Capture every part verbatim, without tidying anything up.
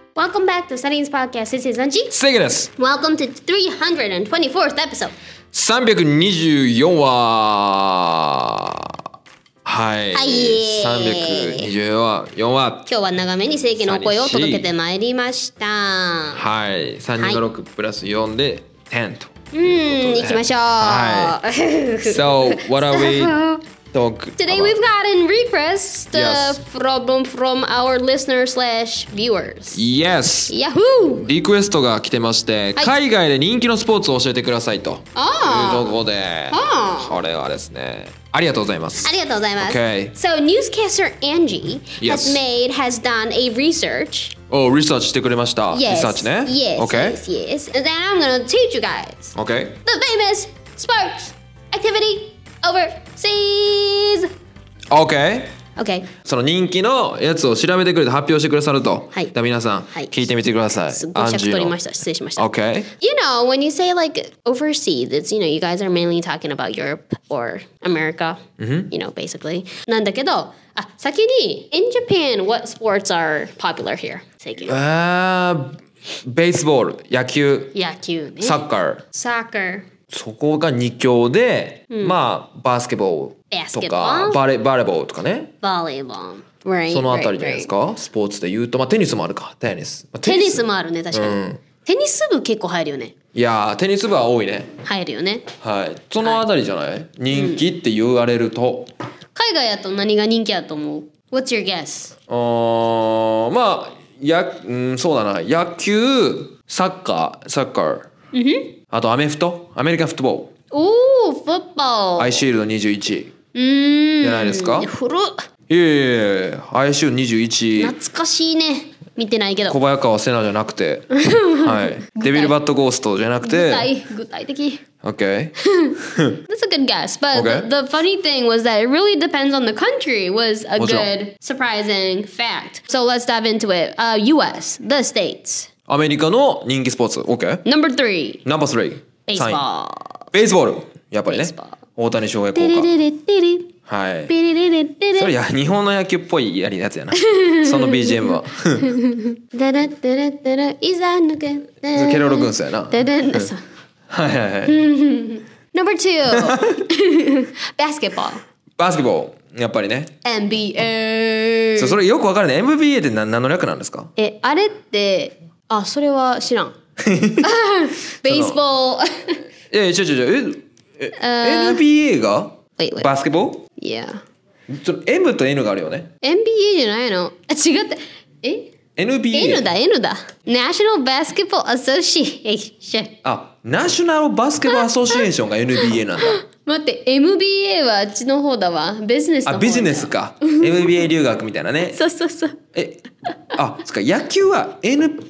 Welcome back to Studying's podcast. This is Anji. セゲです。 Welcome to three hundred twenty-fourth episode. さんびゃくにじゅうよんわ。はい。 はい。 さんびゃくにじゅうよんわ。 今日は長めに正規の声を届けてまいりました。 はい。さんにごろくプラスよんでじゅうと。 うん、行きましょう。 はい。So, what are we talking Today about? we've gotten requests uh, Yes. from, from our listeners slash viewers. Yes. Yahoo! リクエストが来てまして、 はい海外で人気のスポーツを教えてくださいというあところで、 あこれはですね、ありがとうございます。 ありがとうございます。 Okay. So, newscaster Angie Yes. has made, has done a research. お、リサーチしてくれました。リ Yes. サーチね。 Yes, Okay. yes, yes. And then I'm gonna teach you guys Okay. the famous sports activity overseas. Okay. Okay. その人気のやつを調べてくれて発表してくださると。 はいじゃあ皆さん、 はい聞いてみてください。 すっごい尺取りました。失礼しました。 Okay. You know, when you say like overseas, it's, you know, you guys are mainly talking about Europe or America, you know, basically. なんだけど、あ、先に、in Japan, what sports are popular here? 最近。 あー、ベースボール、野球、 野球ね。 サッカー。 Soccer. そこがに強で、まあバスケボーとかバレバレーボールとかね。 Volleyball. Right, そのあたり right, じゃないです right. か。スポーツで言うと、まあテニスもあるか。テニス。まあテニスもあるね、確かに。 うんテニス部結構入るよね。 いやー、テニス部は多いね。 入るよね。 はい。そのあたりじゃない。人気って言われると。 海外やと何が人気やと思う？ What's your guess? あーまあや、うん、そうだな。野球、サッカー、サッカー。あとアメフト、アメリカンフットボール。 おー、フットボール。 アイシールドにじゅういち。 うーん。 じゃないですか。 古っ。 いやいやいや、アイシールドにじゅういち。 懐かしいね。見てないけど。 小早川瀬名じゃなくて、はい。デビルバットゴーストじゃなく具て、 体、具体的。 OK。 That's a good guess. But Okay. the, the funny thing was that it really depends on the country was a もちろん。 good, surprising fact. So let's dive into it. Uh, U S, the States. アメリカの人気スポーツ、OK。 Number three, ナンバースリー。 baseball. ベースボール。やっぱりね Baseball。 大谷翔平効テレレレテレ果。はい。 テレレレテレそれや日本の野球っぽいやりやつやな。その ビージーエム は。 ダラダラダラいざ抜けケロロ軍曹やな。 ダダダそうはいはいはい。 Number two, basketball. バスケボール。やっぱりね。 エヌビーエー. そうそれよくわからない。エムビーエー って何何の略なんですか？ え、あれって、あ、それは知らん。ベースボール。 いやいや、違う違う違う。え、え エヌビーエー が Wait, wait. バスケボール？ Yeah. その M と N があるよね。 エヌビーエー じゃないの？あ、違った。えエヌビーエー。 N だ、N だ。National Basketball Association。 あ、ナショナルバスケットボールアソシエーションが エヌビーエー なんだ。 待って、エムビーエー はあっちの方だわ。ビジネスの方だ。 あ、ビジネスか。エムビーエー 留学みたいなね。 そうそうそう。 え、あ、そっか、野球は N、ん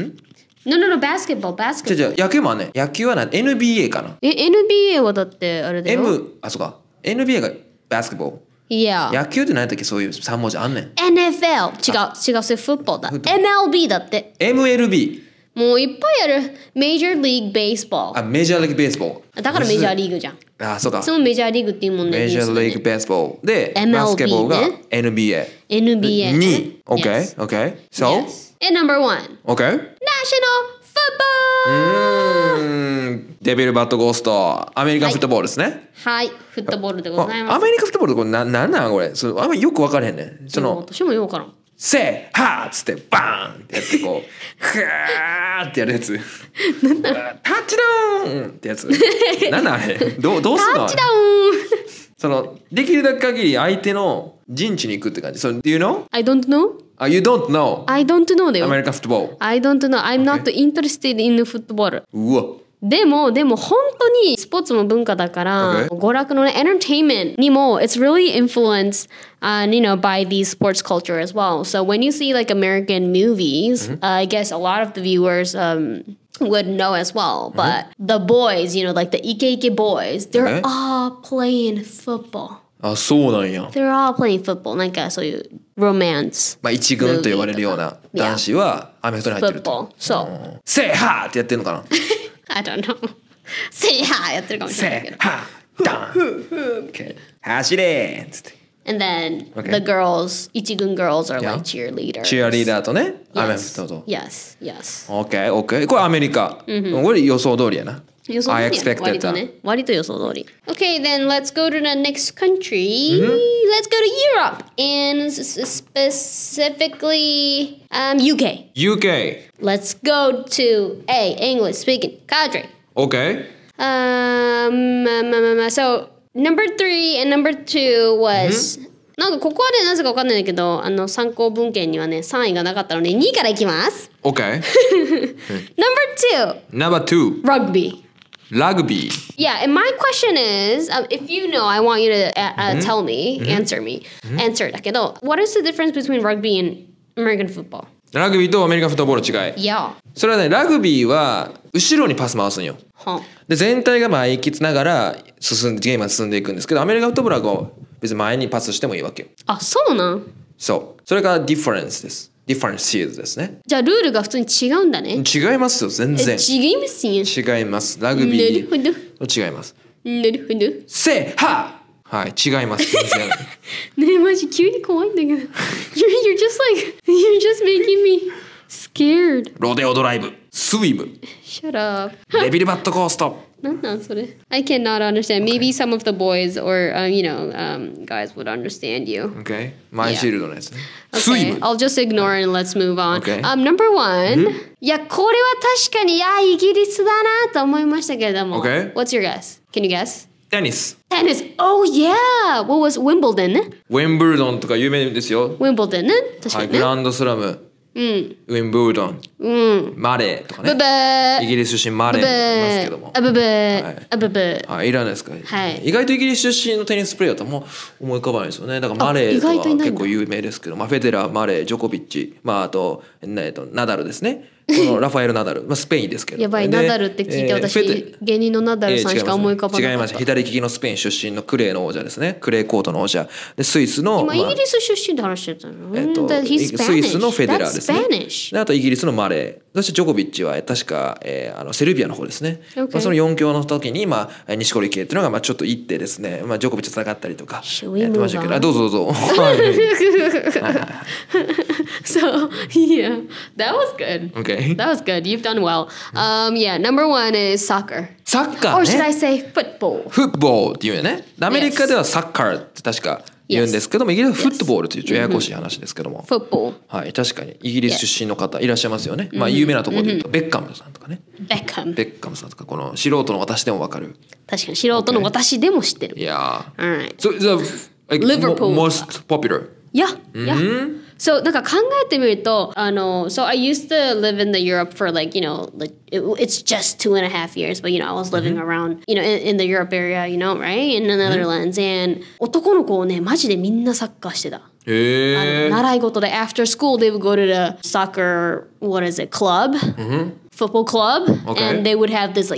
No, no, no, basketball, 違う basketball. 違う、野球もあんね。野球はな エヌビーエー かな。 え、エヌビーエー はだってあれだよ。 M、あ、そっか。エヌビーエー がバスケットボール。 Yeah. 野球って何やったっけ、そういうさん文字あんねん。 エヌエフエル。違う、違う、それフットボールだ。エムエルビー だって。 エムエルビー。 もういっぱいある。Major League Baseball。 あ、メジャーリーグベースボール。 だからメジャーリーグじゃん。いあ、そうか。 つもメジャーリーグっていうもんね。 メジャーリーグベースボール。で、 エムエルビーバスケットボールがねエヌビーエー。 エヌビーエー。 に。 Yes. OK? OK? So? Yes. And number one. OK? National う Football! ーん。デビルバットゴースト。アメリカンフットボールですね。 はい、フットボールでございます。 アメリカンフットボールってこれな、なんなんこれ。そのあんまよく分からへんねん。その、 私もようからん。 せーはーっつってバーンってやってこう、ふわーってやるやつ。タッチダウンってやつ。なんなんあれどう、どうすんのタッチダウンその、できるだけ限り相手の陣地に行くって感じ。So, do you know? I don't know? Uh, you don't know I don't know だよ。 American football. I don't know. I'm not interested in football. うわ。 でも、でも本当にスポーツの文化だから、 Okay. 娯楽のね、entertainment にも、it's really influenced, uh, you know, by the sports culture as well. So when you see like American movies, uh, I guess a lot of the viewers um, would know as well. But the boys, you know, like the Ike boys, they're Okay. all playing football. あ、そうなんや。 They're all playing football. なんかそういう romance. まあ一軍と呼ばれるような男子はアメフトに入ってると。 football. そう。 せーはーってやってんのかな。 I don't know. せいはーやってるかもしれないけど。 せーはーダン。OK 走れーっつって。 And then Okay. the girls, 一軍 girls are Yeah. like cheerleaders. チアリーダーとね、アメフ Yes. トと。 Yes, yes. OK, OK. これアメリカ。これ予想通りやな。 予想通り I や expected 割と that. ね。割と予想通り。Okay, then let's go to the next country. Let's go to Europe. And s- specifically um, U K. U K. Let's go to A, English speaking country. OK? Um, um, um, um, so number three and number two was、なんかここはねなぜかわかんないんだけどあの参考文献にはねさんいがなかったのでにいからいきます。 OK. Number two, Number two. rugby. ラグビー。 Yeah, and my question is, um, if you know, I want you to uh, uh, tell me, answer me, answer だけど what is the difference between rugby and American football? ラグビーとアメリカンフットボールの違い。 Yeah. それはね、ラグビーは後ろにパス回すんよ。 はで全体が前行きつながら進んでゲームが進んでいくんですけど、アメリカンフットボールはこう別に前にパスしてもいいわけよ。 あ、そうなん？ そう。それがディファレンスです。ディファレンスシールドですね。 じゃあルールが普通に違うんだね。 違いますよ、全然。 違いますよ。 違います。ラグビなるほど。 ー違います。 なるほど。 せははい、違います、全然。 ねえマジ急に怖いんだけど you're, you're just like you're just making me scared. ロデオドライブ、スイム、 Shut up. デビルバットコースト。 なんなんそれ I cannot understand. Maybe some of the boys or、um, you know、um, guys would understand you. OK? マイシールドのやつね。 Okay, スイム。 I'll just ignore it and let's move on. Okay. Um, number one、いやこれは確かにいやイギリスだなと思いましたけれども、 Okay. What's your guess? Can you guess? テニス。 Tennis. Oh yeah. What was Wimbledon? ウェンブルドンとか有名ですよ。 Wimbledon ね確かはい、 にね。 グランドスラム、 うん。 ウェンブルドン、 うん。 マレーとかブブね。 ー。 イギリス出身マレーブいますけども。 ーあブブはいーあブブーはい、いらないですか、 はい意外とイギリス出身のテニスプレーヤーとも思い浮かばないですよね。だからマレーとかあ意外といないんだ結構有名ですけど、まあ、フェデラー、マレー、ジョコビッチ、まあ、あと、えっと、ナダルですね。このラファエル・ナダル、まあ、スペインですけど。 やばいでナダルって聞いてえー私、 フェデ芸人のナダルさんしか思い浮かばなかった。 違います。左利きのスペイン出身のクレーの王者ですね。クレーコートの王者。で、スイスの。 今、 まあイギリス出身って話してたの、 えっと、 That he's スイスのフェデラーですね That's Spanish. であとイギリスのマレー、そしてジョコビッチは確か、えー、あのセルビアの方ですね、 Okay. まあ、そのよん強の時に、まあ、錦織圭っていうのがまあちょっと行ってですね、まあ、ジョコビッチと戦ったりとか Should we やってましたけ move ど、 on? あどうぞどうぞはい So, yeah, that was good. OK That was good. You've done well. Um, yeah, number one is soccer. サッカ Or ー should I ね say football? フットボールっていうよね。アメリカではサッカーって確か言うんですけども、イギリスはフットボールというちょっとややこしい話ですけども、 Football. はい、確かにイギリス出身の方いらっしゃいますよね。まあ有名なところで言うとベッカムさんとかね、 Beckham. ベッカムさんとかこの素人の私でもわかる。 確かに素人の私でも知ってる。 いやー。 Alright. So the like, Liverpool. mo- most popular. Yeah, yeah. So なんか考えてみるとあの So I used to live in the Europe for like you know like it, it's just two and a half years but you know I was living around you know in, in the Europe area you know right in the Netherlands and 男の子をねマジでみんなサッカーしてた。 へえ。 習い事で after school they would go to the soccer what is it club、football club、 Okay. and they would have this like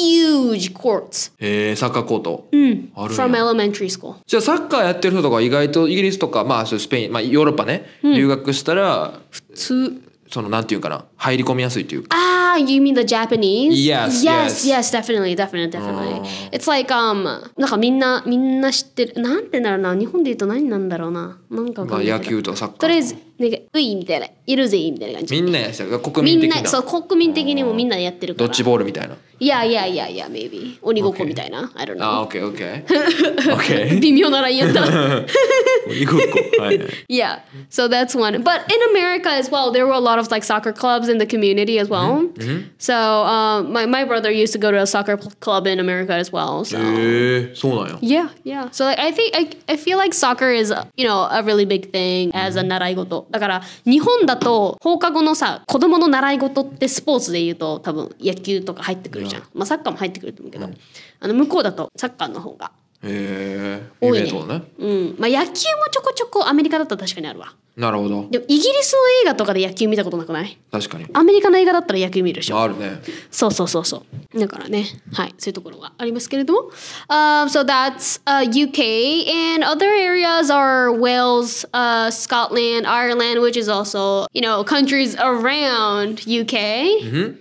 huge courts へえ、サッカーコート。あるん from や。 elementary school。 じゃあサッカーやってる人とか意外とイギリスとかまあそうスペインまあヨーロッパね、留学したらつそのなんていうかな入り込みやすいというか。 Ah, you mean the Japanese? Yes, yes, yes. yes, definitely, definitely, definitely. It's like um, なんかみんなみんな知ってる。なんてなるな。日本で言うと何なんだろうな。なんかわかまあんないけど野球とかサッカー。 とりあえずなんかういみたいな、いるぜみたいな感じ。 みんなやした国みん民的な。 なそう国民的にもみんなやってるから。 ドッジボールみたいな。 いやいやいやいや、maybe 鬼ごっこみたいな。I don't あ、 know. オッケーオッケー。オッケー。 微妙なラインやった。 鬼ごっこ。はい。 Yeah, so that's one. But in America as well, there were a lot of like soccer clubs in the community as well. So um, my my brother used to go to a soccer pl- club in America as well. So へえ、そうなんや。 yeah, yeah. So like, I think I I feel like soccer is you know a really big thing as a 習い事。だから日本だと放課後のさ子供の習い事ってスポーツで言うと多分野球とか入ってくるじゃん。まあサッカーも入ってくると思うけど、あの向こうだとサッカーの方が。 へえ。 多いねイベントね。 うん、まあ野球もちょこちょこアメリカだったら確かにあるわ。 なるほど。 でもイギリスの映画とかで野球見たことなくない？ 確かに。 アメリカの映画だったら野球見るでしょ。 あるね。 そうそうそうそう。だからね、はい、そういうところがありますけれども。Um, so that's、uh, U K and other areas are Wales, uh, Scotland, Ireland, which is also, you know, countries around U K. And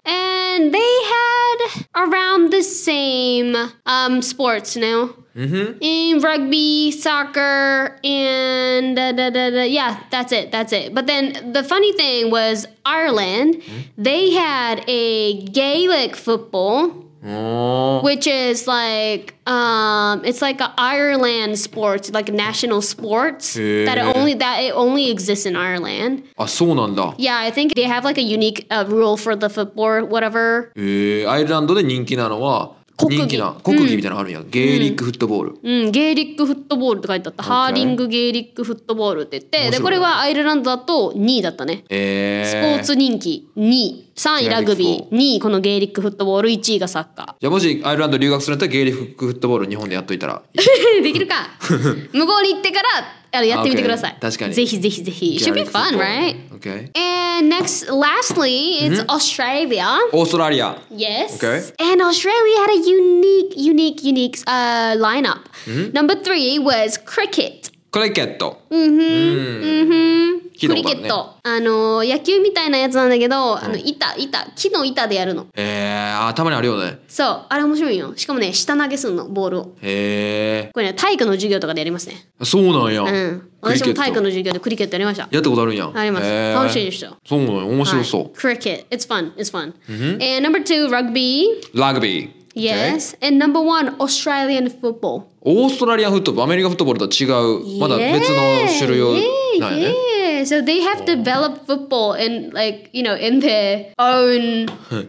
and they had around the same um, sports now. Mm-hmm. In rugby, soccer, and da, da, da, da. Yeah, that's it. That's it. But then the funny thing was Ireland, mm-hmm. they had a Gaelic football, oh. which is like um, it's like an Ireland sport, like a national sports that it only that it only exists in Ireland. あ、そうなんだ。 Yeah, I think they have like a unique uh, rule for the football, whatever. えー、アイルランドで人気なのは人気な国技みたいなのあるんや、うん、ゲーリックフットボール、 うん、ゲーリックフットボールって書いてあった、okay. ハーリングゲーリックフットボールって言ってでこれはアイルランドだとにいだったね、 えー、 スポーツ人気にいさんいラグビーにいこのゲーリックフットボールいちいがサッカー。 じゃあもしアイルランド留学するんだったらゲーリックフットボール日本でやっといたらできるか向こうに行ってからあのやってみてください、 okay. 確かにぜひぜひぜひ It should be fun, right? Okay. And next, lastly, it's mm-hmm. Australia. オーストラリア Yes. Okay. And Australia had a unique, unique, unique uh, lineup. Mm-hmm. Number three was cricket. クリケット。 うんふん。うんふん。クリケット。あの野球みたいなやつなんだけど、あの板板木の板でやるの。 へえ、あ、たまにあるよね。 そう、あれ面白いよ。しかもね、下投げすんのボールを。 へえ。 これね、体育の授業とかでやりますね。 そうなんや。 うん。私も体育の授業でクリケットやりました。 やったことあるんや。 あります。楽しいでした。 そうなんや、面白そう。 Cricket, it's fun, it's fun. And number two, rugby. ラグビー。 Yes. And number one, Australian football. オーストラリアンフットボール、アメリカフットボールとは違う、まだ別の種類をなんやね。 Yeah, so they have developed football in like, you know, in their own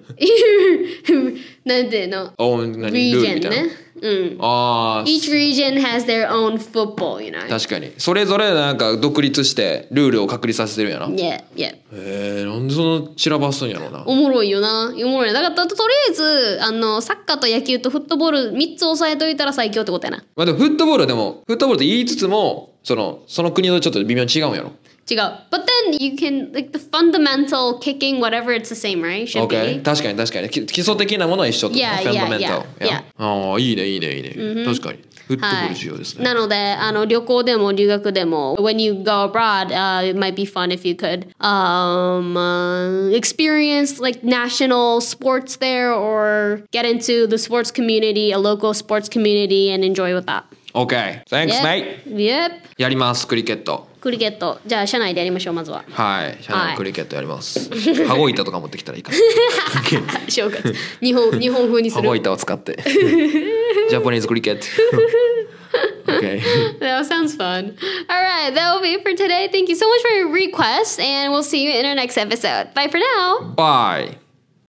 なんていうの own 何ルールみたいな。 うん。 ああ。 Each region has their own football, you know. 確かに。それぞれなんか独立してルールを確立させてるんやな。 Yeah, yeah. へえ、なんでその散らばすんやろうな。 おもろいよな。おもろい。だからとりあえずあのサッカーと野球とフットボールみっつ押さえといたら最強ってことやな。 まあでもフットボールはでもフットボールと言いつつもそのその国のちょっと微妙に違うんやろ。 違う。But then you can like the fundamental kicking whatever it's the same, right? Should okay. be. 確かに確かに基礎的なものは一緒と。 Yeah, yeah, yeah, yeah. ああいいねいいねいいね。 Mm-hmm. 確かに。フットボール重要ですね。 なのであの旅行でも留学でも when you go abroad, uh, it might be fun if you could um, uh, experience like national sports there or get into the sports community, a local sports community and enjoy with that. Okay. Thanks, Yep. mate. Yep. やりますクリケット。 クリケット。じゃあ社内でやりましょうまずは。 はい。社内クリケットやります。羽子板とか持ってきたらいいかな。 正月。日本日本風にする。 羽子板を使って。ジャパニーズクリケット。Okay. That sounds fun. All right, that will be it for today. Thank you so much for your requests, and we'll see you in our next episode. Bye for now. Bye.